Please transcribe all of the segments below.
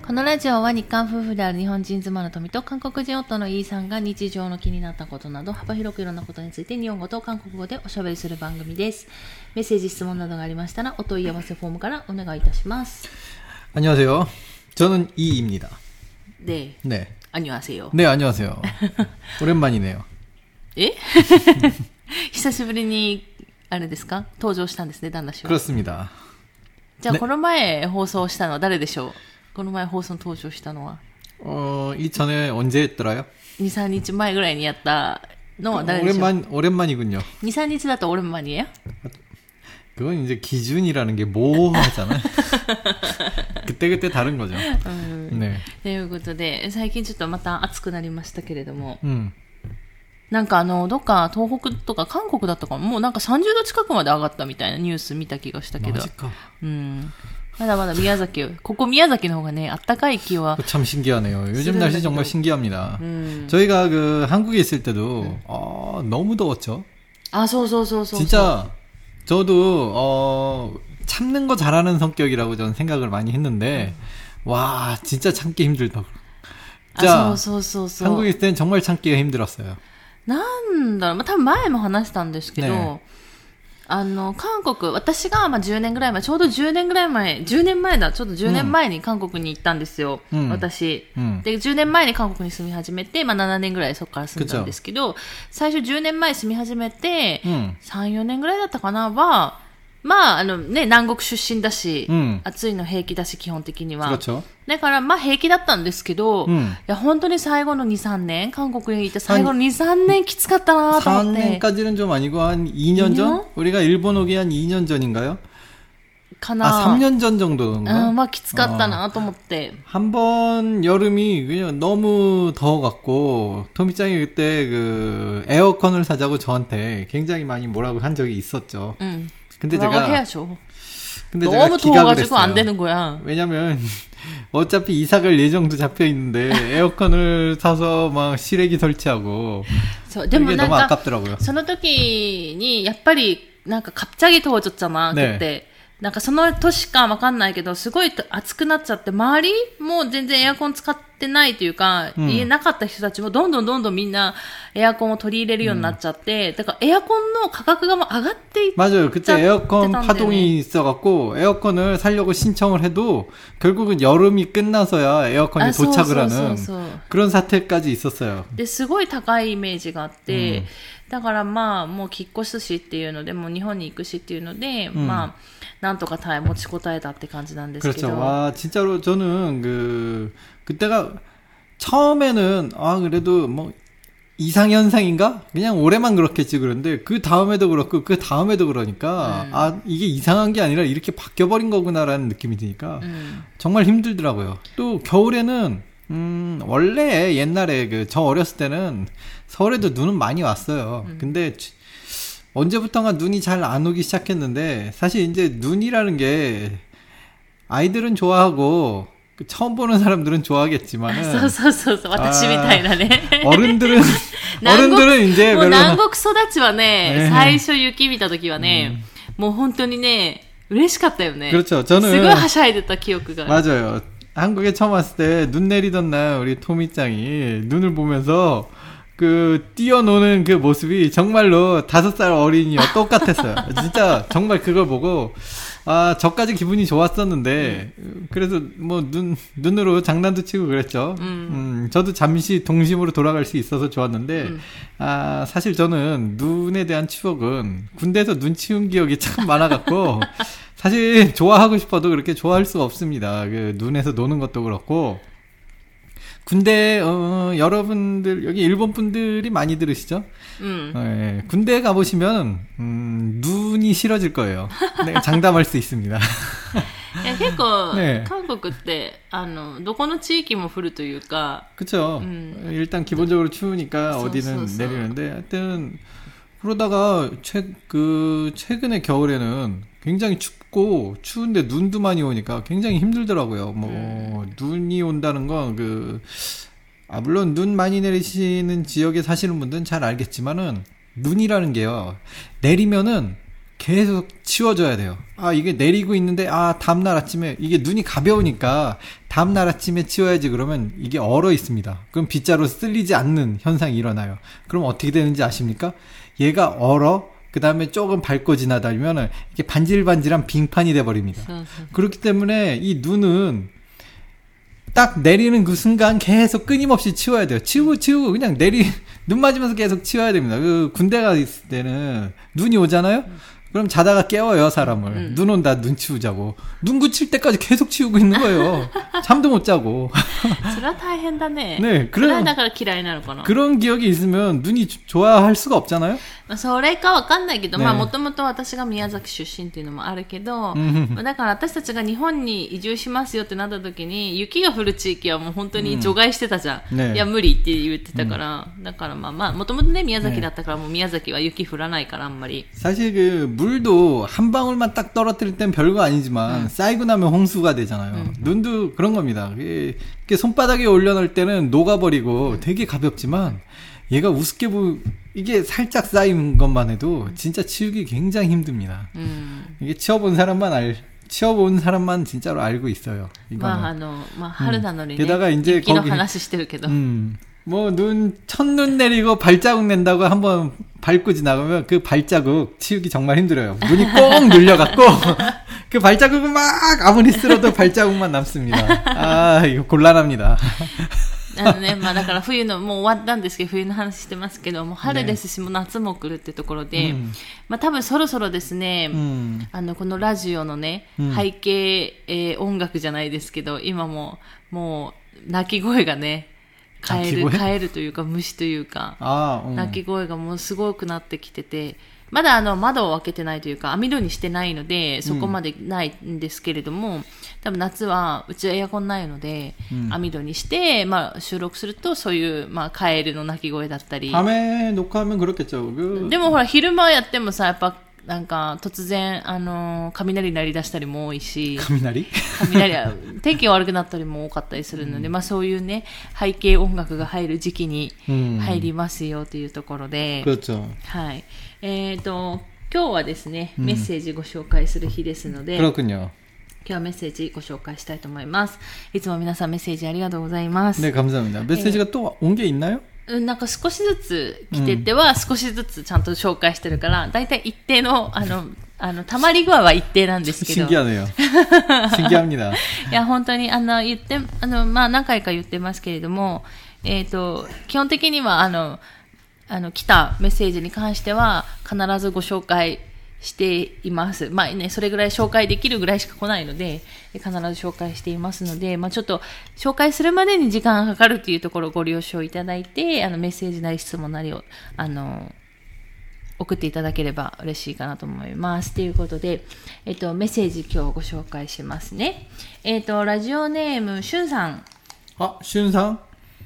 このラジオは日韓夫婦である日本人妻の富と韓国人夫のイーさんが日常の気になったことなど幅広くいろんなことについて日本語と韓国語でおしゃべりする番組です。メッセージ質問などがありましたらお問い合わせフォームからお願いいたします。 안녕하세요. 저는 이입니다. 네. 네. 안녕하세요. 네, 안녕하세요. 오랜만이네요. 예? 久しぶりにあれですか登場したんですね、旦那氏は。 그렇습니다. じゃあ、この前放送したのは誰でしょう？この前放送登場したのは 이전에 언제 했더라요? 2、3日前ぐらいにやったのは誰でしょう？ 오랜만이군요. 2、3日だと오랜만이에요? 그건 이제 기준이라는 게 모호하잖아요. 그때그때 다른 거죠. 네. ということで、最近ちょっとまた暑くなりましたけれども、なんかどっか東北とか韓国だったかも、もうなんか30度近くまで上がったみたいなニュース見た気がしたけど。まだまだ宮崎、ここ宮崎の方がね、暖かい気は。 참 신기하네요. 요즘 날씨 정말 신기합니다. 저희가 그 한국에 있을 때도 너무 더웠죠. 아, 소. 진짜 저도 참는 거 잘하는 성격이라고 저는 생각을 많이 했는데 와, 진짜 참기 힘들다고. 진짜 한국에 있을 땐 정말 참기가 힘들었어요. なんだろう、 多分前も話したんですけど、ね、韓国、私が10年ぐらい前、ちょうど10年ぐらい前、10年前だ、ちょっと10年前に韓国に行ったんですよ、私、で、10年前に韓国に住み始めて、7年ぐらいそこから住んだんですけど、最初10年前住み始めて、3、4年ぐらいだったかな、は、南国出身だし、暑いの平気だし、基本的には。だから、平気だったんですけど、いや、本当に最後の2、3年、韓国にいて最後の2、3年きつかったなと思って。 3년까지는 좀 아니고, 한 2년 전? 우리가 일본 오기 한 2년 전인가요? かな。 3년 전 정도인가? きつかったなと思って。 한 번 여름이 그냥 너무 더워갖고, 토미짱이 그때 에어컨을 사자고 저한테 굉장히 많이 뭐라고 한 적이 있었죠. 근데 제가 해야죠. 너무 더워가지고 안 되는 거야. 왜냐면 어차피 이사 갈 예정도 잡혀 있는데 에어컨을 사서 막 실외기 설치하고 이게 너무 아깝더라고요. その時にやっぱりなんか갑자기 더워졌잖아. 그때. なんかその年かわかんないけど、すごい暑くなっちゃって、周りも全然エアコン使ってないというか、家なかった人たちもどんどんみんなエアコンを取り入れるようになっちゃって、だからエアコンの価格がもう上がっていっちゃってたんだよね。 맞아요. 그때 에어컨 파동이 있어갖고 에어컨을 사려고 신청을 해도 결국은 여름이 끝나서야 에어컨이 도착을 하는 그런 사태까지 있었어요. で、すごい高いイメージがあって、だからもう引っ越すしっていうので、もう日本に行くしっていうので、なんとか持ちこたえたって感じなんですけど。 그렇죠. 와, 진짜로 저는 그때가 처음에는 그래도 뭐 이상현상인가? 그냥 올해만 그렇겠지 그런데 그 다음에도 그렇고 그 다음에도 그러니까 이게 이상한 게 아니라 이렇게 바뀌어버린 거구나라는 느낌이 드니까 정말 힘들더라고요. 또 겨울에는 원래 옛날에 저 어렸을 때는 서울에도 눈은 많이 왔어요. 근데 언제부턴가 눈이 잘 안 오기 시작했는데 사실 이제 눈이라는 게 아이들은 좋아하고 처음 보는 사람들은 좋아하겠지만은 そう私みたいなね 어른들은 이제 별로 南国育ちはね、最初雪見た時はね、もう本当にね嬉しかったよね. 그렇죠. 저는 すごいはしゃいでた記憶が. 맞아요. 한국에 처음 왔을 때 눈 내리던 날 우리 토미짱이 눈을 보면서 뛰어노는 그 모습이 정말로 5살 어린이와 똑같았어요. 진짜 정말 그걸 보고 저까지 기분이 좋았었는데 그래서 뭐 눈으로 장난도 치고 그랬죠. 저도 잠시 동심으로 돌아갈 수 있어서 좋았는데 사실 저는 눈에 대한 추억은 군대에서 눈 치운 기억이 참 많아갖고 사실 좋아하고 싶어도 그렇게 좋아할 수가 없습니다. 눈에서 노는 것도 그렇고. 군대 여러분들 여기 일본 분들이 많이 들으시죠? 네, 군대 가보시면 눈이 싫어질 거예요. 네, 장담할 수 있습니다. いや結構、韓国ってどこの地域も降るというか 그렇죠. 일단 기본적으로 추우니까 어디는 내리는데 하여튼 그러다가 최근에 겨울에는 굉장히 춥고 추운데 눈도 많이 오니까 굉장히 힘들더라고요. 눈이 온다는 건 물론 눈 많이 내리시는 지역에 사시는 분들은 잘 알겠지만은 눈이라는 게요. 내리면은 계속 치워줘야 돼요. 아, 이게 내리고 있는데, 아, 다음날 아침에, 이게 눈이 가벼우니까, 다음날 아침에 치워야지 그러면 이게 얼어 있습니다. 그럼 빗자루 쓸리지 않는 현상이 일어나요. 그럼 어떻게 되는지 아십니까? 얘가 얼어, 그 다음에 조금 밟고 지나다니면 이게 반질반질한 빙판이 돼버립니다. 그렇기 때문에 이 눈은 딱 내리는 그 순간 계속 끊임없이 치워야 돼요. 치우고 그냥 눈 맞으면서 계속 치워야 됩니다. 그 군대가 있을 때는 눈이 오잖아요? 그럼 자다가 깨워요, 사람을. 눈 온다, 눈 치우자고. 눈 굳힐 때까지 계속 치우고 있는 거예요. 잠도 못 자고. それは大変だね。 네, それはだから嫌いなのかな。 그런 기억이 있으면 눈이 좋아할 수가 없잖아요? まあ、それかわかんないけど、 ね、 まあもともと私が宮崎出身っていうのもあるけど、まあ、だから私たちが日本に移住しますよってなった時に、雪が降る地域はもう本当に除外してたじゃん。ね、いや無理って言ってたから、だからまあもともとね宮崎だったからもう宮崎は雪降らないからあんまり。 사실 그 물도 한 방울만 딱 떨어뜨릴 땐 별거 아니지만 쌓이고 나면 홍수가 되잖아요. 눈도 그런 겁니다. 이게 손바닥에 올려놓을 때는 녹아버리고 되게 가볍지만 얘가 우습게 이게 살짝 쌓인 것만 해도 진짜 치우기 굉장히 힘듭니다. 이게 치워본 사람만 진짜로 알고 있어요. 이거는. 게다가 이제 거기 뭐 첫눈 내리고 발자국 낸다고 한번 밟고 지나가면 그 발자국 치우기 정말 힘들어요. 눈이 꼭 눌려갖고 그 발자국은 막 아무리 쓸어도 발자국만 남습니다. 아, 이거 곤란합니다. ね、まあだから冬のもう終わったんですけど冬の話してますけどもう春ですし、もう夏も来るってところで、まあ多分そろそろですね、このラジオのね、背景、音楽じゃないですけど今もう鳴き声がねカエルというか虫というか、鳴き声がもうすごくなってきてて、まだ窓を開けてないというか網戸にしてないのでそこまでないんですけれども、多分夏はうちはエアコンないので、網戸にして、まあ、収録するとそういう、まあ、カエルの鳴き声だったり。 밤에 녹화하면 그렇겠죠. でもほら昼間やってもさやっぱなんか突然雷鳴り出したりも多いし、雷天気が悪くなったりも多かったりするので、まあそういうね背景音楽が入る時期に入りますよというところで、はい。今日はですねメッセージご紹介する日ですので、 그렇군요. 今日はメッセージご紹介したいと思います。いつも皆さんメッセージありがとうございます。 네, 감사합니다. 메시지가 또 온 게 있나요? なんか少しずつ来てては、少しずつちゃんと紹介してるから、だいたい一定の、溜まり具合は一定なんですけど。 신기하네요. 신기합니다. いや、本当に、まあ、何回か言ってますけれども、基本的には、来たメッセージに関しては、必ずご紹介しています。まあね、それぐらい紹介できるぐらいしか来ないので、必ず紹介していますので、まあちょっと紹介するまでに時間がかかるっていうところをご了承いただいて、メッセージなり質問なりを、送っていただければ嬉しいかなと思います。ということで、メッセージ今日ご紹介しますね。ラジオネーム、しゅんさん。 あ、しゅんさん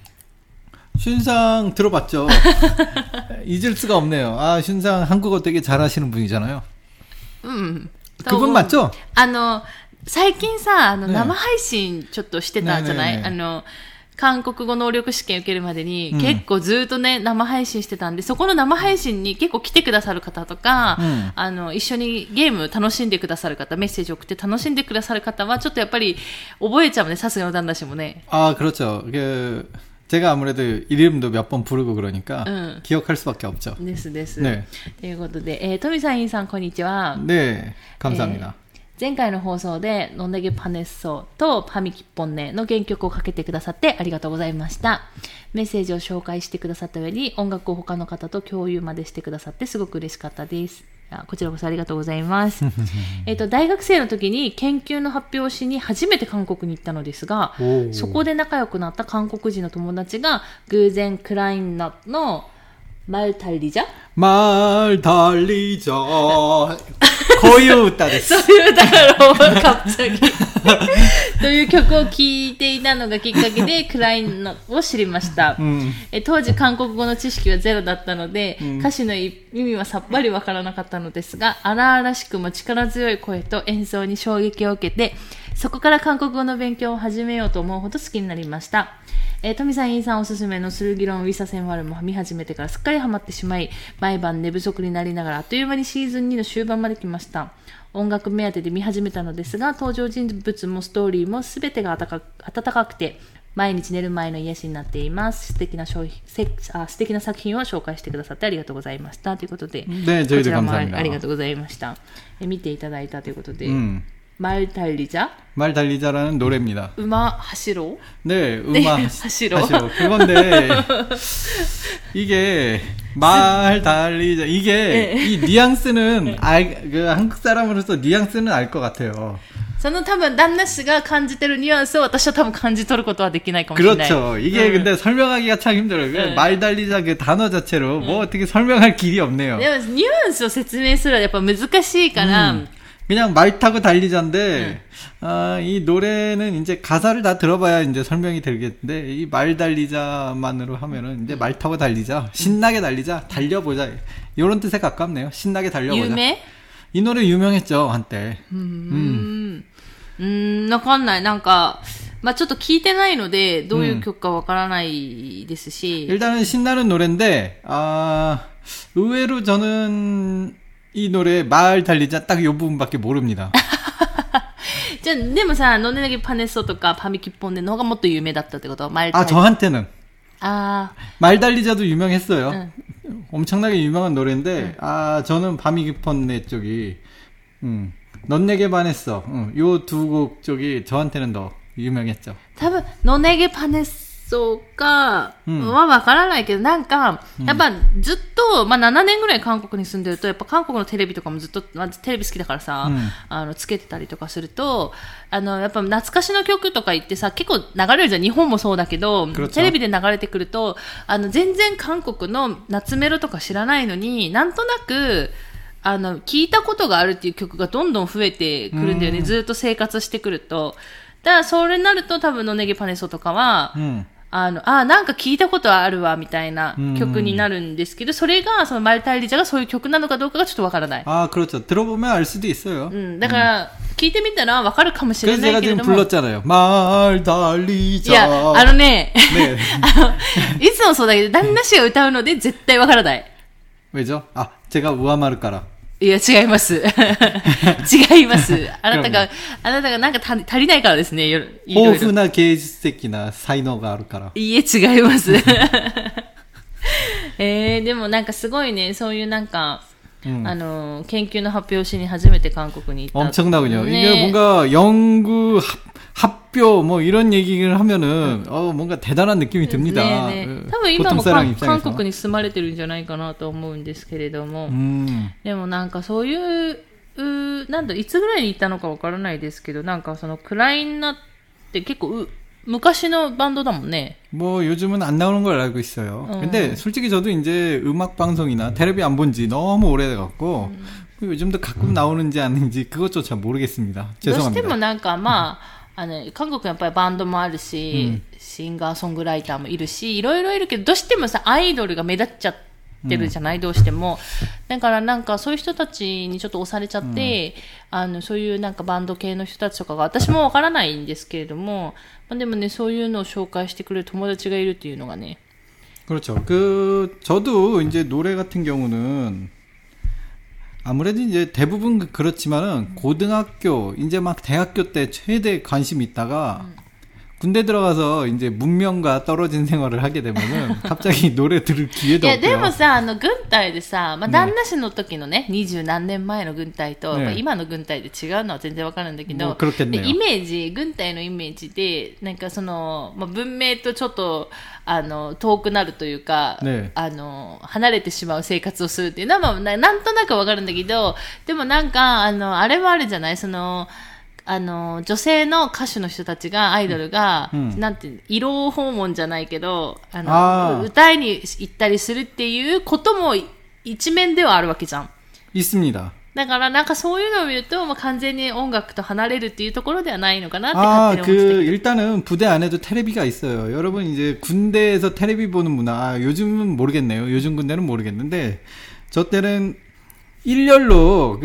슌상 들어봤죠? 잊을 수가 없네요. 아, 슌상 한국어 되게 잘하시는 분이잖아요. 그분 맞죠? 最近さ、生配信ちょっとしてたんじゃない？韓国語能力試験受けるまでに、結構ずっとね、生配信してたんで、そこの生配信に結構来てくださる方とか、一緒にゲーム楽しんでくださる方、メッセージ送って楽しんでくださる方は、ちょっとやっぱり覚えちゃうね、さすがの旦那氏もね。 あ、그렇죠. 제가 아무래도 이름도 몇 번 부르고 그러니까 기억할 수밖에 없죠. です。ね。ということで、トミさん、インさん、こんにちは。 ね、감사합니다。 前回の放送でノンネゲパネッソとパミキッポンネの原曲をかけてくださってありがとうございました。メッセージを紹介してくださった上に音楽を他の方と共有までしてくださってすごく嬉しかったです。こちらこそありがとうございます。大学生の時に研究の発表をしに初めて韓国に行ったのですが、そこで仲良くなった韓国人の友達が偶然クラインナットの말 달리자? 말 달리자. こういう歌です。 そういう歌だろう、갑자기。という曲を聴いていたのがきっかけでクラインを知りました。当時韓国語の知識はゼロだったので、歌詞の意味はさっぱりわからなかったのですが、荒々しくも力強い声と演奏に衝撃を受けて、そこから韓国語の勉強を始めようと思うほど好きになりました。 トミさん、インさんおすすめのスルギロンウィサセンワルも見始めてからすっかりハマってしまい、毎晩寝不足になりながらあっという間にシーズン2の終盤まで来ました。音楽目当てで見始めたのですが、登場人物もストーリーも全てが温かくて、毎日寝る前の癒しになっています。素敵な作品を紹介してくださってありがとうございましたということで、 ね、 こちらもありがとうございました。見ていただいたということで、말 달리자? 말 달리자라는 노래입니다. 음악 하시로? 네, 음악 하시로. 그건데 이게 말 달리자 이게 네. 이 뉘앙스는 그 한국 사람으로서 뉘앙스는 알 것 같아요. その多分旦那氏が感じてるニュアンスを私は多分感じ取ることはできないかもしれない。 그렇죠. 이게 근데 설명하기가 참 힘들어요. 말 달리자 그 단어 자체로 뭐 어떻게 설명할 길이 없네요. でもニュアンスを説明するのはやっぱ難しいから、 그냥 말 타고 달리자인데, 이 노래는 이제 가사를 다 들어봐야 이제 설명이 되겠는데, 이 말 달리자만으로 하면은 이제 말 타고 달리자, 신나게 달리자, 달려보자. 이런 뜻에 가깝네요. 신나게 달려보자. 유명? 이 노래 유명했죠, 한때. わかんない。なんか、まあちょっと聞いてないので、どういう曲かわからないですし。 일단은 신나는 노래인데, 의외로 저는, 이 노래 말 달리자 딱 요 부분밖에 모릅니다. じゃあでもさ、ノネネゲパネソとかパミキポンネの方がもっと有名だったってこと？말 저한테는. 말 달리자도 유명했어요. 엄청나게 유명한 노래인데, 저는 파미키폰네 쪽이, 넌 내게 반했어. 요 두 곡 쪽이 저한테는 더 유명했죠. 多分、ノネゲパネソかはわからないけど、なんか、やっぱずっと、まあ7年ぐらい韓国に住んでると、やっぱ韓国のテレビとかもずっと、まずテレビ好きだからさ、つけてたりとかすると、やっぱ懐かしの曲とか言ってさ、結構流れるじゃん。日本もそうだけど、テレビで流れてくると、全然韓国の夏メロとか知らないのに、なんとなく、聞いたことがあるっていう曲がどんどん増えてくるんだよね。ずっと生活してくると。だからそれになると多分のネゲパネソとかは、なんか聞いたことあるわみたいな曲になるんですけど、それがそのマルタイリジャがそういう曲なのかどうかがちょっとわからない。 그렇죠. 들어보면 알 수도 있어요. だから聞いてみたらわかるかもしれないけれども。 그래서 제가 지금 불렀잖아요. 말 달리자. いや、ね、いつもそうだけど旦那氏が歌うので絶対わからない。 왜죠? 제가 우아마르까라. いや、違います。違います。あなたがなんか足りないからですね。 豊富な芸術的な才能があるから。 いいえ、違います。でもなんかすごいね、そういうなんか、研究の発表しに初めて韓国に行った。 엄청나군요. 이게 뭔가 연구 합표 뭐 이런 얘기를 하면은 뭔가 대단한 느낌이 듭니다. 多分今も韓国に住まれてるんじゃないかなと思うんですけれども、でもなんかそういうなんだいつぐらいに行ったのかわからないですけど、なんかそのクライナって結構昔のバンドだもんね. 뭐 요즘은 안 나오는 걸 알고 있어요. 근데 솔직히 저도 이제 음악 방송이나 테레비 안 본 지 너무 오래돼 갖고 요즘도 가끔 나오는지 아닌지 그것조차 모르겠습니다. 죄송합니다. どうしてもなんかまあ韓国やっぱりバンドもあるし、シンガーソングライターもいるし、いろいろいるけど、どうしてもさ、アイドルが目立っちゃってるじゃない、どうしても。だからなんかそういう人たちにちょっと押されちゃって、そういうなんかバンド系の人たちとかが、私もわからないんですけれども、でもね、そういうのを紹介してくれる友達がいるっていうのがね。 그렇죠. 저도 이제 노래 같은 경우는 아무래도 이제 대부분 그렇지만은 고등학교 이제 막 대학교 때 최대 관심이 있다가 군대 들어가서 이제 문명과 떨어진 생활을 하게 되면은 갑자기 노래 들을 기회도 없고요. でもさ、軍隊でさ、まあ、旦那氏の時のね、20何年前の軍隊と、今の軍隊で違うのは全然わかるんだけど、でイメージ、軍隊のイメージで、なんかその、まあ、文明とちょっと、遠くなるというか、離れてしまう生活をするっていうのは、まあ、なんとなくわかるんだけど、でもなんか、あれはあるじゃない、その、女性の歌手の人たちが、アイドルが、なんて、慰労訪問じゃないけど、歌いに行ったりするっていうことも一面ではあるわけじゃん。 있습니다. だからなんかそういうのを見ると、まあ、完全に音楽と離れるっていうところではないのかなって勝手に思ってきた。 일단은 부대 안에도 테레비가 있어요. 여러분 이제 군대에서 테레비 보는 문화, 요즘은 모르겠네요. 요즘 군대는 모르겠는데, 저 때는 일렬로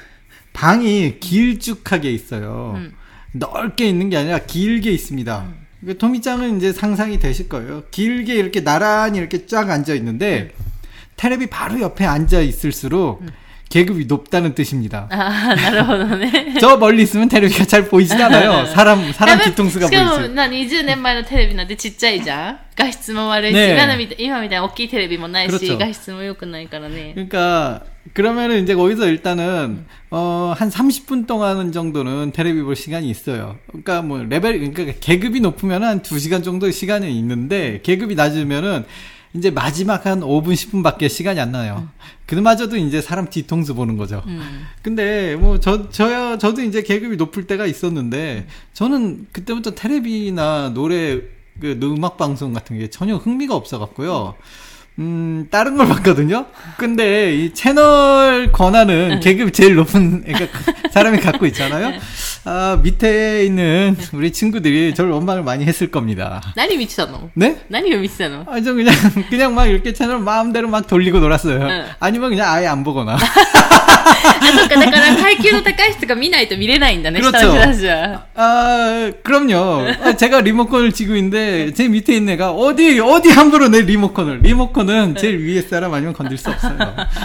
방이 길쭉하게 있어요. 넓게 있는 게 아니라 길게 있습니다. 토미짱은 이제 상상이 되실 거예요. 길게 이렇게 나란히 이렇게 쫙 앉아 있는데 테레비 바로 옆에 앉아 있을수록 계급이 높다는 뜻입니다. 아, なるほどね。 저 멀리 있으면 테레비가 잘 보이진 않아요. 사람 뒤통수가 しかも、 보이지. 20年前のテレビなんてちっちゃいじゃん。画質も悪いし、 ね今みたいな大きいテレビもないし、 그렇죠. 画質も良くないからね。 그러니까 그러면은 이제 거기서 일단은 한 30분 동안 정도는 테레비 볼 시간이 있어요. 그러니까 뭐 그러니까 계급이 높으면 한 2시간 정도 시간이 있는데 계급이 낮으면은 이제 마지막 한 5분 10분밖에 시간이 안 나요. 그마저도 이제 사람 뒤통수 보는 거죠. 근데 뭐 저도 이제 계급이 높을 때가 있었는데 저는 그때부터 테레비나 노래 그 음악 방송 같은 게 전혀 흥미가 없어 갖고요. 다른 걸 봤거든요. 근데 이 채널 권한은 계급이 제일 높은 그러니까 사람이 갖고 있잖아요. 아, 밑에 있는 우리 친구들이 저를 원망을 많이 했을 겁니다. 何見てたの? 네? 何を見てたの? 아, 저 그냥 막 이렇게 채널 마음대로 막 돌리고 놀았어요. 아니면 그냥 아예 안 보거나. あ、そっか、だから階級の高い人が見ないと見れないんだね、 그렇죠. 下の人たちは。 아, 그럼요. 제가 리모컨을 쥐고 있는데 제 밑에 있는 애가 어디 함부로 내 리모컨은 제일 위에 사람 아니면 건들 수 없어요.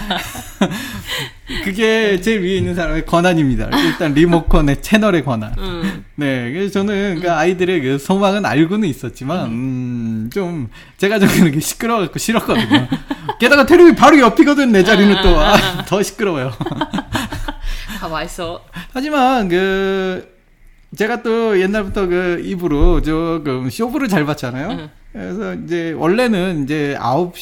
그게 제일 위에 있는 사람의 권한입니다. 일단 리모컨의 채널의 권한. 네, 그래서 저는 그 아이들의 그 소망은 알고는 있었지만 좀 제가 좀 그렇게 시끄러워갖고 싫었거든요. 게다가 테레비 바로 옆이거든. 내 자리는 또 더 시끄러워요. かわいそう。 하지만 제가 또 옛날부터 그 입으로 조금 쇼부를 잘 봤잖아요. 그래서 이제 원래는 이제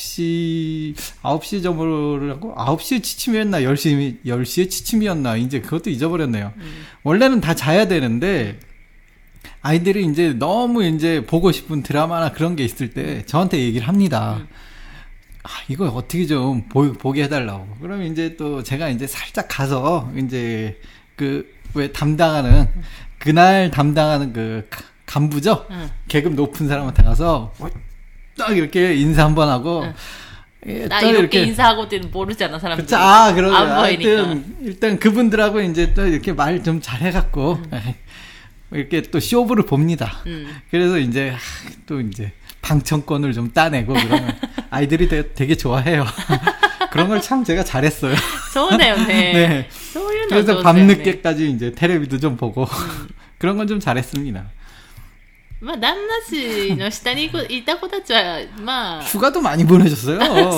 9시 점으로 하고 9시에 취침이었나 10시에 취침이었나 이제 그것도 잊어버렸네요. 원래는 다 자야 되는데 아이들이 이제 너무 이제 보고 싶은 드라마나 그런 게 있을 때 저한테 얘기를 합니다. 아, 이거 어떻게 좀 보게 해달라고. 그럼 이제 또 제가 이제 살짝 가서 이제 왜 그날 담당하는 그 간부죠? 계급 높은 사람한테 가서 딱 이렇게 인사 한번 하고 나 이렇게 인사하고 때는 모르잖아, 사람들이. 그쵸, 아, 그러죠. 안 보이니까. 일단 그분들하고 이제 또 이렇게 말 좀 잘 해갖고 이렇게 또 쇼부를 봅니다. 그래서 이제 또 이제 방청권을 좀 따내고 그러면 아이들이 되게 좋아해요. 그런 걸 참 제가 잘했어요. そうだよね. 네. そういうの 그래서 밤늦게까지 이제 테레비도 좀 보고 그런 건 좀 잘했습니다. まあ旦那氏の下にいた子たちはまあ 휴가도 많이 보내줬어요.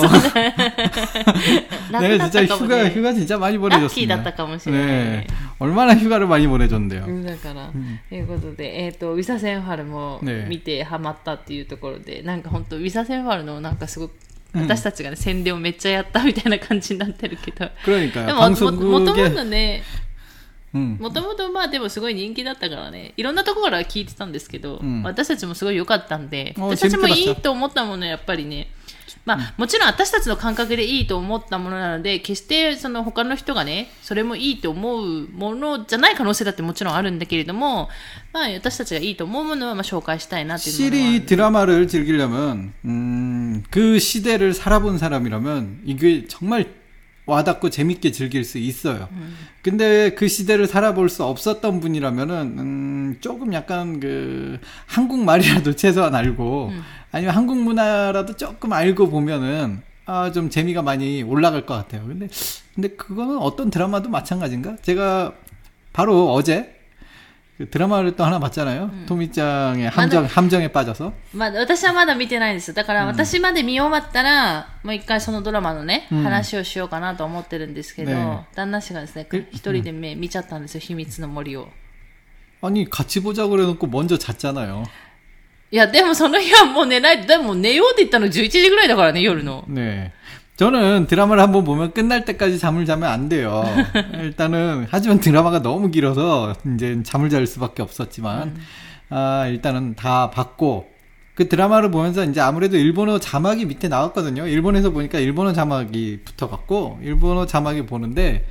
네, 진짜 휴가 진짜 많이 보내줬습니다. ラッキーだったかもしれない。 네, 얼마나 휴가를 많이 보내줬는데요. だからということでウィサセンファルも見てハマったっていうところで、なんか本当ウィサセンファルのなんかすごく私たちがね宣伝をめっちゃやったみたいな感じになってるけど、 그러니까요. でももともとね。 もともとまあでもすごい人気だったからね、いろんなところから聞いてたんですけど、私たちもすごい良かったんで、私たちもいいと思ったものやっぱりね、まあもちろん私たちの感覚でいいと思ったものなので、決してその他の人がねそれもいいと思うものじゃない可能性だってもちろんあるんだけれども、まあ私たちがいいと思うものはまあ紹介したいなっていうのは。 실이 이 드라마를 즐기려면 그 시대를 살아본 사람이라면 이게 정말 와닿고 재밌게 즐길 수 있어요. 근데 그 시대를 살아볼 수 없었던 분이라면은 조금 약간 그 한국말이라도 최소한 알고 아니면 한국 문화라도 조금 알고 보면은 좀 재미가 많이 올라갈 것 같아요. 근데 그거는 어떤 드라마도 마찬가지인가? 제가 바로 어제 그 드라마를 또 하나 봤잖아요. 토미짱의 함정에 빠져서. まあ私はまだ見てないんです。だから私まで見終わったら、もう一回そのドラマのね、話をしようかなと思ってるんですけど、旦那氏がですね、一人で見ちゃったんですよ、秘密の森を。 아니 같이 보자고 그래놓고 먼저 잤잖아요. いやでもその日はもう寝ない。でも寝ようって言ったの11時ぐらいだからね、夜の。 네. 저는 드라마를 한번 보면 끝날 때까지 잠을 자면 안 돼요. 일단은 하지만 드라마가 너무 길어서 이제 잠을 잘 수밖에 없었지만 일단은 다 봤고 그 드라마를 보면서 이제 아무래도 일본어 자막이 밑에 나왔거든요. 일본에서 보니까 일본어 자막이 붙어갖고 일본어 자막이 보는데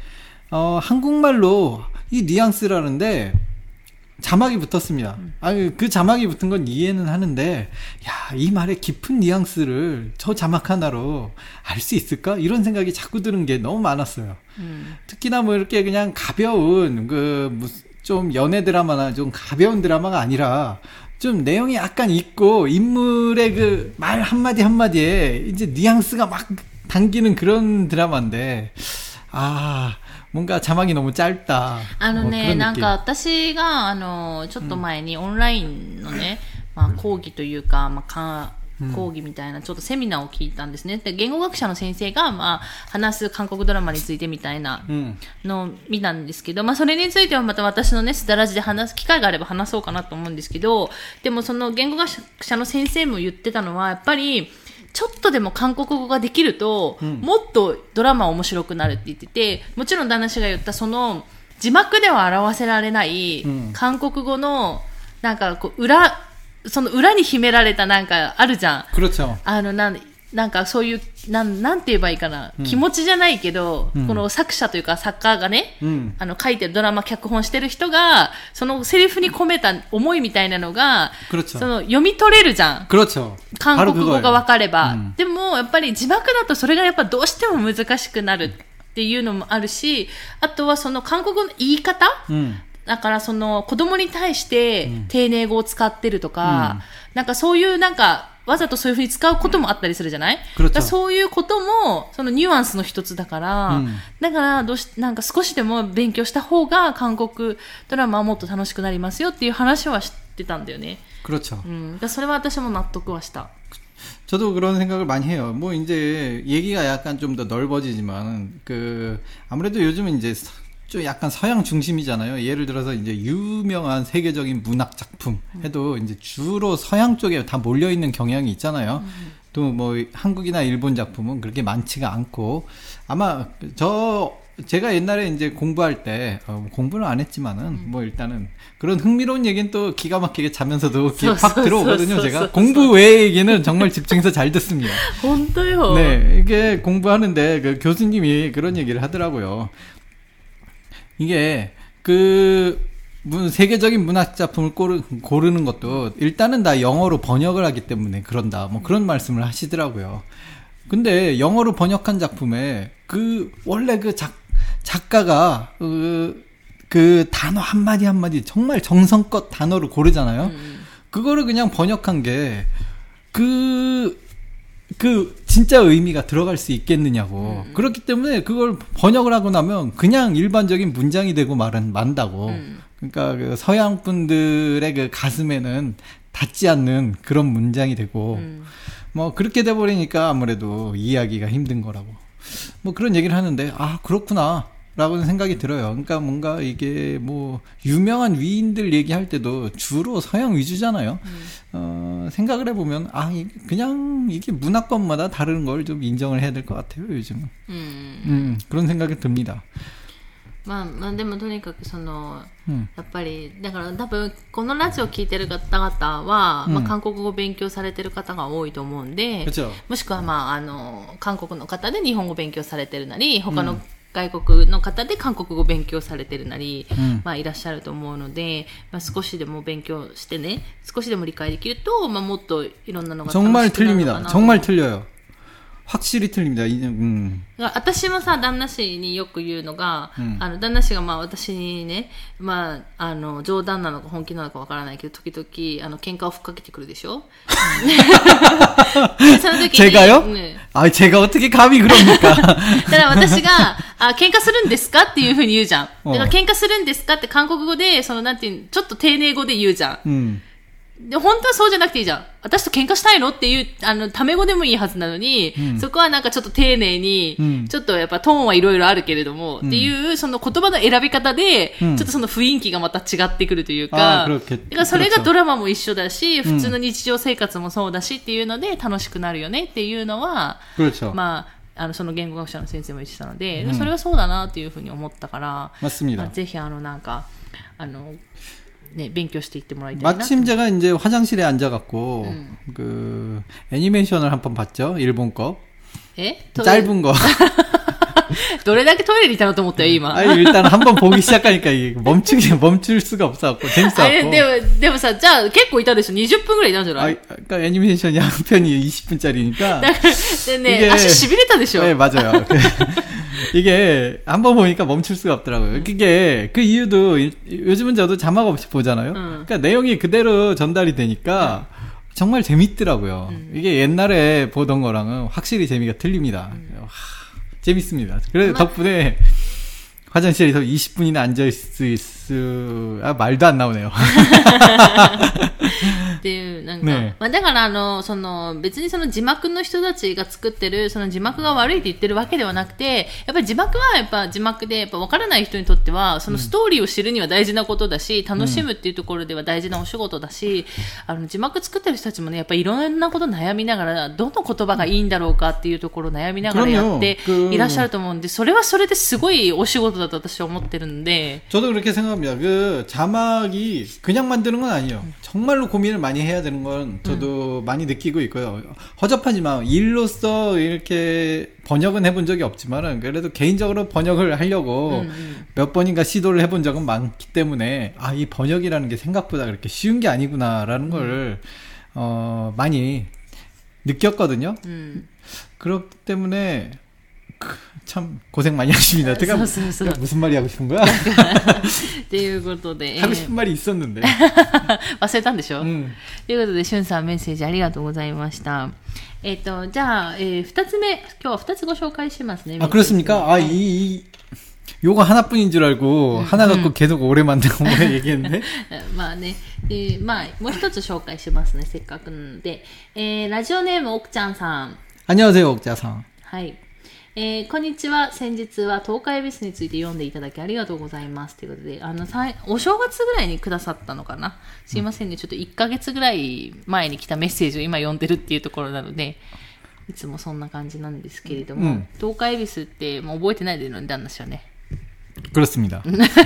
한국말로 이 뉘앙스라는데 자막이 붙었습니다. 아니, 그 자막이 붙은 건 이해는 하는데, 야, 이 말의 깊은 뉘앙스를 저 자막 하나로 알 수 있을까? 이런 생각이 자꾸 드는 게 너무 많았어요. 특히나 뭐 이렇게 그냥 가벼운, 좀 연애 드라마나 좀 가벼운 드라마가 아니라 좀 내용이 약간 있고 인물의 그 말 한마디 한마디에 이제 뉘앙스가 막 당기는 그런 드라마인데 뭔가 자막이 너무 짧다. ね、なんか私が、ちょっと前にオンラインのね、講義というか、講義みたいなちょっとセミナーを聞いたんですね。で、言語学者の先生が、話す韓国ドラマについてみたいなのを見たんですけど、それについてはまた私のね、スダラジで話す機会があれば話そうかなと思うんですけど、でもその言語学者の先生も言ってたのは、やっぱり、ちょっとでも韓国語ができると、もっとドラマ面白くなるって言ってて、もちろん旦那氏が言ったその、字幕では表せられない、韓国語の、なんかこう、その裏に秘められたなんかあるじゃん。 그렇죠。 なんかそういう、なんて言えばいいかな。気持ちじゃないけど、この作者というか作家がね、書いてるドラマ脚本してる人が、そのセリフに込めた思いみたいなのが、その読み取れるじゃん。韓国語がわかれば。でも、やっぱり字幕だとそれがやっぱどうしても難しくなるっていうのもあるし、あとはその韓国語の言い方、だからその子供に対して丁寧語を使ってるとか、なんかそういうなんかわざとそういう風に使うこともあったりするじゃない？そういうこともそのニュアンスの一つだから、だからなんか少しでも勉強した方が韓国ドラマはもっと楽しくなりますよっていう話は知ってたんだよね。 그렇죠。 それは私も納得はした。 저도 그런 생각을 많이 해요. 뭐 이제 얘기가 약간 좀 더 넓어지지만 아무래도 요즘은 이제 좀 약간 서양 중심이잖아요. 예를 들어서 이제 유명한 세계적인 문학 작품 해도 이제 주로 서양 쪽에 다 몰려 있는 경향이 있잖아요. 또 뭐 한국이나 일본 작품은 그렇게 많지가 않고 아마 제가 옛날에 이제 공부할 때 공부는 안 했지만은 뭐 일단은 그런 흥미로운 얘기는 또 기가 막히게 자면서도 귀에 팍 들어오거든요. 제가 공부 외의 얘기는 정말 집중해서 잘 듣습니다. 혼자요. 네, 이게 공부하는데 그 교수님이 그런 얘기를 하더라고요. 이게 세계적인 문학 작품을 고르는 것도 일단은 다 영어로 번역을 하기 때문에 그런다. 뭐 그런 말씀을 하시더라고요. 근데 영어로 번역한 작품에 원래 작가가 그 단어 한마디 한마디 정말 정성껏 단어를 고르잖아요. 그거를 그냥 번역한 게 진짜 의미가 들어갈 수 있겠느냐고. 그렇기 때문에 그걸 번역을 하고 나면 그냥 일반적인 문장이 되고 만다고. 그러니까 그 서양 분들의 그 가슴에는 닿지 않는 그런 문장이 되고, 뭐 그렇게 돼버리니까 아무래도 이해하기가 힘든 거라고. 뭐 그런 얘기를 하는데, 그렇구나. 라고는 생각이 들어요. 그러니까 뭔가 이게 뭐 유명한 위인들 얘기할 때도 주로 서양 위주잖아요. 생각을 해보면 그냥 이게 문화권마다 다른 걸 좀 인정을 해야 될 것 같아요, 요즘은. 그런 생각이 듭니다. でもとにかくやっぱりだから多分このラジオ聞いてる方々は、韓国語を勉強されてる方が多いと思うんで、もしくは韓国の方で日本語を勉強されてるなり、他の外国の方で韓国語を勉強されてるなり、いらっしゃると思うので、少しでも勉強してね、少しでも理解できると、もっといろんなのが楽しくなるのかな。 정말 틀립니다. 정말 틀려요. 확실히 틀립니다. 私もさ、旦那氏によく言うのが、旦那氏が私にね、冗談なのか本気なのかわからないけど、時々喧嘩をふっかけてくるでしょ。その時に 제가요? 제가 어떻게 감히 그럽니까? だから私が喧嘩するんですかっていうふうに言うじゃん。だから喧嘩するんですかって韓国語でなんていうちょっと丁寧語で言うじゃん。で本当はそうじゃなくていいじゃん。私と喧嘩したいのっていうタメ語でもいいはずなのに、そこはなんかちょっと丁寧に、ちょっとやっぱトーンはいろいろあるけれども、っていうその言葉の選び方で、ちょっとその雰囲気がまた違ってくるというか、だからそれがドラマも一緒だし、普通の日常生活もそうだしっていうので楽しくなるよねっていうのは、その言語学者の先生も言ってたので、それはそうだなっていうふうに思ったから、ぜひなんか네, 勉強していってもらいたいな. 마침 제가 이제 화장실에 앉아갖고 애니메이션을 한번 봤죠. 일본 거. 짧은 거. どれだけトイレにいたのと思ったよ今. 일단 한번 보기 시작하니까 멈출 수가 없어갖고 재밌어갖고. でもさ、じゃあ結構いたでしょ. 20分ぐらいいたんじゃない? 그러니까 애니메이션이 한 편이 20분짜리니까. でね、足痺れたでしょ. 네, 맞아요. 이게 한번 보니까 멈출 수가 없더라고요. 그게 그 이유도 요즘은 저도 자막 없이 보잖아요. 그러니까 내용이 그대로 전달이 되니까 정말 재밌더라고요. 이게 옛날에 보던 거랑은 확실히 재미가 틀립니다. 재밌습니다. 그래서 덕분에 화장실에서 20분이나 앉아있을 말도 안 나오네요. っていうなんか、ね、まあ、だからその別にその字幕の人たちが作ってるその字幕が悪いって言ってるわけではなくて、やっぱり字幕はやっぱ字幕でやっぱ分からない人にとってはそのストーリーを知るには大事なことだし、楽しむっていうところでは大事なお仕事だし、字幕作ってる人たちもねやっぱりいろんなこと悩みながらどの言葉がいいんだろうかっていうところを悩みながらやっていらっしゃると思うんで、それはそれですごいお仕事だと私は思ってるんで。 저도 그렇게 생각합니다. 그 자막이 그냥 만드는 건 아니에요. 정말로 고민을 많이 해야 되는 건 저도 많이 느끼고 있고요. 허접하지만 일로서 이렇게 번역은 해본 적이 없지만은 그래도 개인적으로 번역을 하려고 몇 번인가 시도를 해본 적은 많기 때문에 이 번역이라는 게 생각보다 그렇게 쉬운 게 아니구나라는 걸 많이 느꼈거든요. 그렇기 때문에 참 고생 많이 하십니다. 제가 무슨 말이 하고 싶은 거야? っていうことで 하고 싶은 말이 있었는데 忘れたんでしょ、ということでしゅんさんメッセージありがとうございました。じゃあ、2つ目今日は2つご紹介しますね。 그렇습니까? 요거 하나뿐인 줄 알고 하나 갖고 계속 오래 만들고 얘기했는데 まあね、まあもう一つ紹介しますねせっかくなので、ラジオネーム奥ちゃんさん。 안녕하세요奥ちゃんさん。 はい、こんにちは。先日は東海恵比寿について読んでいただきありがとうございますということで、お正月ぐらいにくださったのかな、すいませんね、ちょっと1ヶ月ぐらい前に来たメッセージを今読んでるっていうところなのでいつもそんな感じなんですけれども、東海恵比寿ってもう覚えてないでるのに旦那氏はね。 그렇습니다.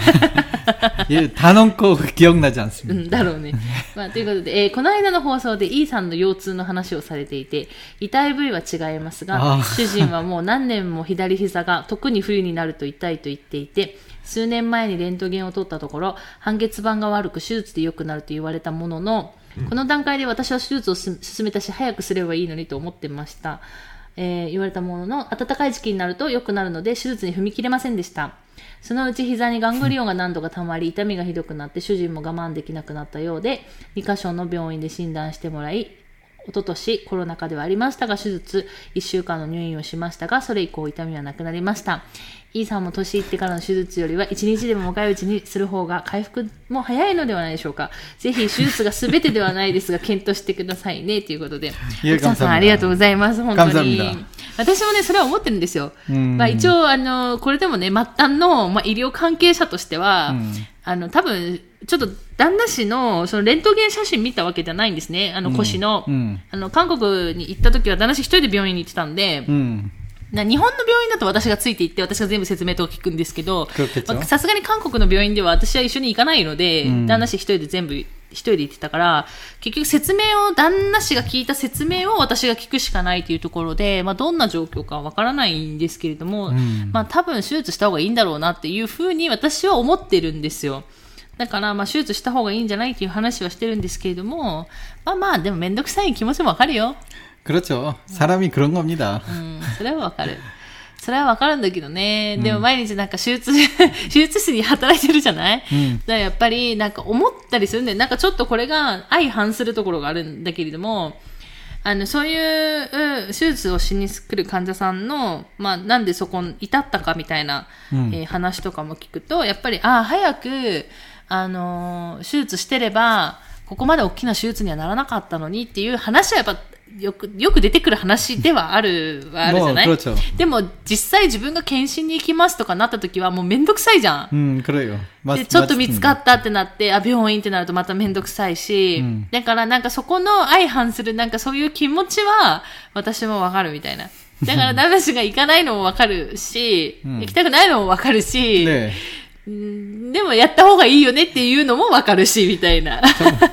예, 단언코 기억나지 않습니다. だろうね。まあ、ということで、この間の放送で E さんの腰痛の話をされていて、痛い部位は違いますが、主人はもう何年も左膝が特に冬になると痛いと言っていて、数年前にレントゲンを取ったところ、半月板が悪く手術で良くなると言われたものの、この段階で私は手術を進めたし、早くすればいいのにと思ってました。言われたものの、暖かい時期になると良くなるので、手術に踏み切れませんでした。そのうち膝にガングリオンが何度か溜まり、痛みがひどくなって主人も我慢できなくなったようで、2カ所の病院で診断してもらい、一昨年コロナ禍ではありましたが、手術1週間の入院をしましたが、それ以降痛みはなくなりました。E さんも年いってからの手術よりは1日でも若いうちにする方が回復も早いのではないでしょうか。ぜひ手術が全てではないですが検討してくださいねということで、奥さんありがとうございます。本当に私もねそれは思ってるんですよ。まあ、一応これでもね末端の、医療関係者としては、多分ちょっと旦那氏のそのレントゲン写真見たわけじゃないんですね。腰の、韓国に行った時は旦那氏一人で病院に行ってたんで、日本の病院だと私がついていって私が全部説明とか聞くんですけど、さすがに韓国の病院では私は一緒に行かないので、旦那氏一人で全部一人で行ってたから、結局説明を旦那氏が聞いた説明を私が聞くしかないというところで、どんな状況かわからないんですけれども、多分手術した方がいいんだろうなっていうふうに私は思ってるんですよ。だから手術した方がいいんじゃないっていう話はしてるんですけれども、でもめんどくさい気持ちもわかるよ。 그렇죠. 사람이 그런 겁니다. それはわかる。それはわかるんだけどね。でも毎日なんか手術室に働いてるじゃない？だからやっぱりなんか思ったりするんで、なんかちょっとこれが相反するところがあるんだけれども、そういう手術をしに来る患者さんの、なんでそこに至ったかみたいな、話とかも聞くと、やっぱり、早く、手術してれば、ここまで大きな手術にはならなかったのにっていう話はやっぱ、よく出てくる話ではあるじゃない？でも実際自分が検診に行きますとかなった時はもうめんどくさいじゃん。でちょっと見つかったってなって病院ってなるとまためんどくさいし、だからなんかそこの相反するなんかそういう気持ちは私もわかるみたいな。だから旦那氏が行かないのもわかるし、行きたくないのもわかるし、でもやった方がいいよねっていうのもわかるしみたいな。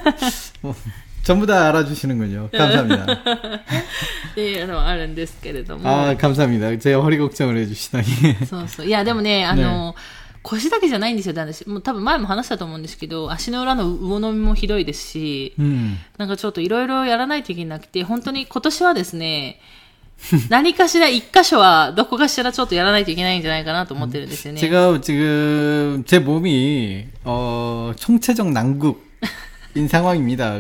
전부 다 알아주시는군요. 감사합니다. っていうのはあるんですけれども。 감사합니다. 제 허리 걱정을 해주시다니. そうそう。いや、でもね、腰だけじゃないんですよ、私。もう多分前も話したと思うんですけど、足の裏の魚のみもひどいですし、なんかちょっといろいろやらないといけなくて、本当に今年はですね、 何かしら一箇所はどこかしらちょっとやらないといけないんじゃないかなと思ってるんですよね。 제가 지금 제 몸이 총체적 난국인 상황입니다.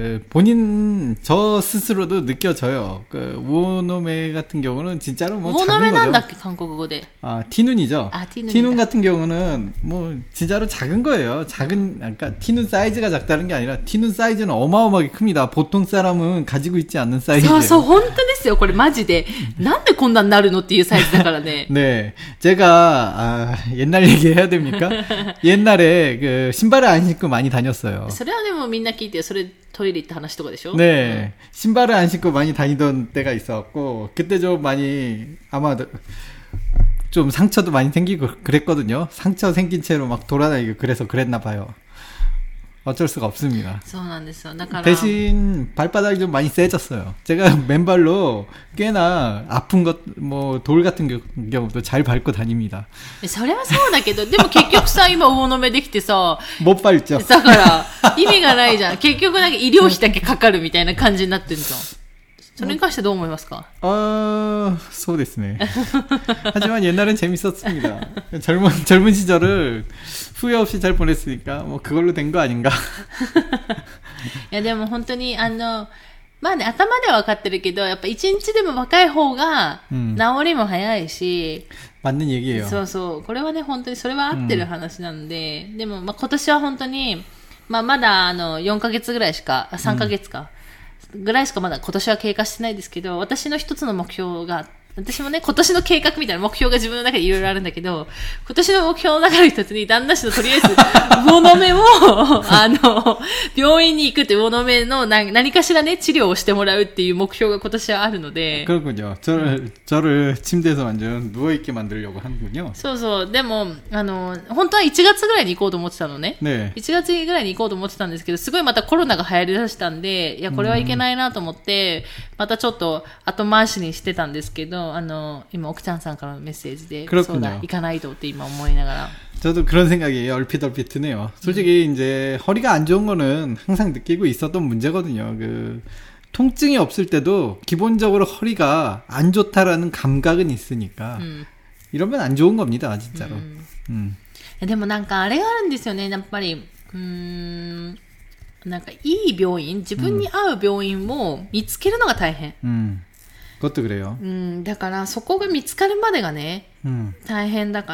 본인 저 스스로도 느껴져요. 우오노메 같은 경우는 진짜로 뭐 작은 거죠. だっけ韓国語で。 티눈이죠. 티눈이다. 티눈 같은 경우는 뭐 진짜로 작은 거예요. 그러니까 티눈 사이즈가 작다는 게 아니라 티눈 사이즈는 어마어마하게 큽니다. 보통 사람은 가지고 있지 않는 사이즈예요. そう、本当ですよ。これマジで。なんでこんなになるのっていうサイズだからね。 네. 제가, 옛날 얘기 해야 됩니까? 옛날에 신발을 안 신고 많이 다녔어요. それはでもみんな聞いて、それトイレ行った話とかでしょ? 네. 신발을 안 신고 많이 다니던 때가 있었고, 그때 좀 많이, 아마 좀 상처도 많이 생기고 그랬거든요. 상처 생긴 채로 막 돌아다니고 그래서 그랬나 봐요. 어쩔 수가 없습니다. そうなんですよ。だから 대신 발바닥이 좀 많이 세졌어요. 제가 맨발로 꽤나 아픈 돌 같은 경우도 잘 밟고 다닙니다. それはそうだけど、でも結局さ、今魚の目できてさ、 못 밟죠. だから意味がないじゃん。結局なんか医療費だけかかるみたいな感じになってるじゃん。それに関してどう思いますか? そうですね. 하지만 옛날엔 재밌었습니다. 젊은 시절을 후회 없이 잘 보냈으니까 뭐 그걸로 된 거 아닌가. いやでも本当にまあね、頭では分かってるけど、やっぱ一日でも若い方が治りも早いし、 맞는 얘기예요. そうそう、これはね本当にそれは合ってる話なので、でもまあ今年は本当にまだ4ヶ月ぐらいしか、3ヶ月か、ぐらいしかまだ今年は経過してないですけど、私の一つの目標が、私もね、今年の計画みたいな目標が自分の中でいろいろあるんだけど、今年の目標の中の一つに、旦那氏のとりあえず、魚の目を、病院に行くって、魚の目の何かしらね、治療をしてもらうっていう目標が今年はあるので。 그렇군요. 저를 침대에서 완전 누워있게 만들려고 하는군요. そうそう。でも、本当は1月ぐらいに行こうと思ってたのね。 ね。 1月ぐらいに行こうと思ってたんですけど、すごいまたコロナが流行りだしたんで、いや、これはいけないなと思って、またちょっと後回しにしてたんですけど、今、奥ちゃんさんからのメッセージで、そうだ、行かないとって今思いながら。 저도 그런 생각이 얼핏 드네요. 솔직히 이제 허리가 안 좋은 거는 항상 느끼고 있었던 문제거든요. 통증이 없을 때도 기본적으로 허리가 안 좋다라는 감각은 있으니까 이러면 안 좋은 겁니다, 진짜로. でもなんかあれがあるんですよね、やっぱり。なんかいい病院、自分に合う病院を見つけるのが大変。 그것도 그래요. だからそこが見つかるまでがね、大変だから、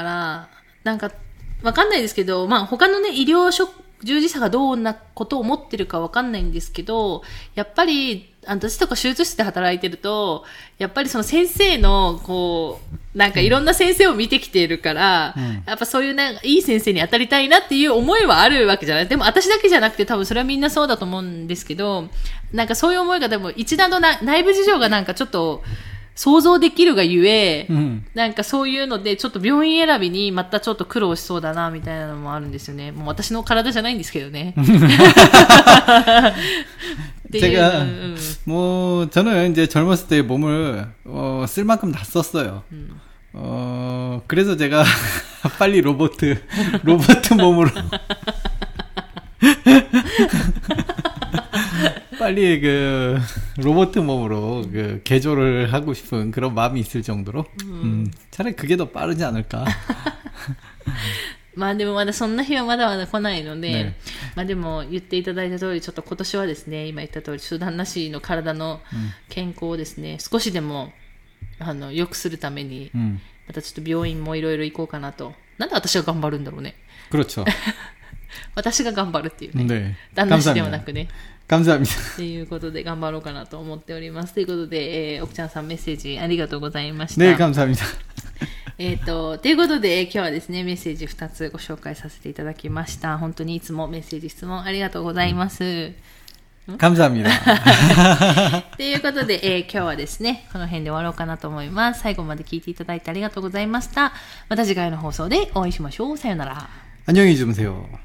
なんかわかんないですけど、まあ他のね、医療従事者がどんなことを思ってるかわかんないんですけど、やっぱり、私とか手術室で働いてると、やっぱりその先生の、こう、なんかいろんな先生を見てきているから、やっぱそういうなんかいい先生に当たりたいなっていう思いはあるわけじゃない。でも私だけじゃなくて多分それはみんなそうだと思うんですけど、なんかそういう思いがでも一段の内部事情がなんかちょっと、想像できるがゆえ、なんかそういうのでちょっと病院選びにまたちょっと苦労しそうだなみたいなのもあるんですよね。もう私の体じゃないんですけどね。 제가 뭐 저는 이제 젊었을 때 몸을 쓸 만큼 다 썼어요. 그래서 제가 빨리 로봇 몸으로 빨리 로봇 몸으로 개조를 하고 싶은 그런 마음이 있을 정도로 차라리 그게 더 빠르지 않을까. まあでもまだそんな日はまだまだ来ないので、ね、まあでも言っていただいた通りちょっと今年はですね、今言った通り手段なしの体の健康をですね、少しでも良くするために、またちょっと病院もいろいろ行こうかなと。なんで私が頑張るんだろうね。 그렇죠. 私が頑張るっていうね。 ね、 旦那氏ではなくね。 감사합니다. ということで頑張ろうかなと思っております。ということで、奥ちゃんさんメッセージありがとうございました。 ね、감사합니다. ということで、今日はですね、メッセージ2つご紹介させていただきました。本当にいつもメッセージ、質問ありがとうございます。 감사합니다. ということで、今日はですね、この辺で終わろうかなと思います。最後まで聞いていただいてありがとうございました。また次回の放送でお会いしましょう。さよなら。 안녕히 주무세요.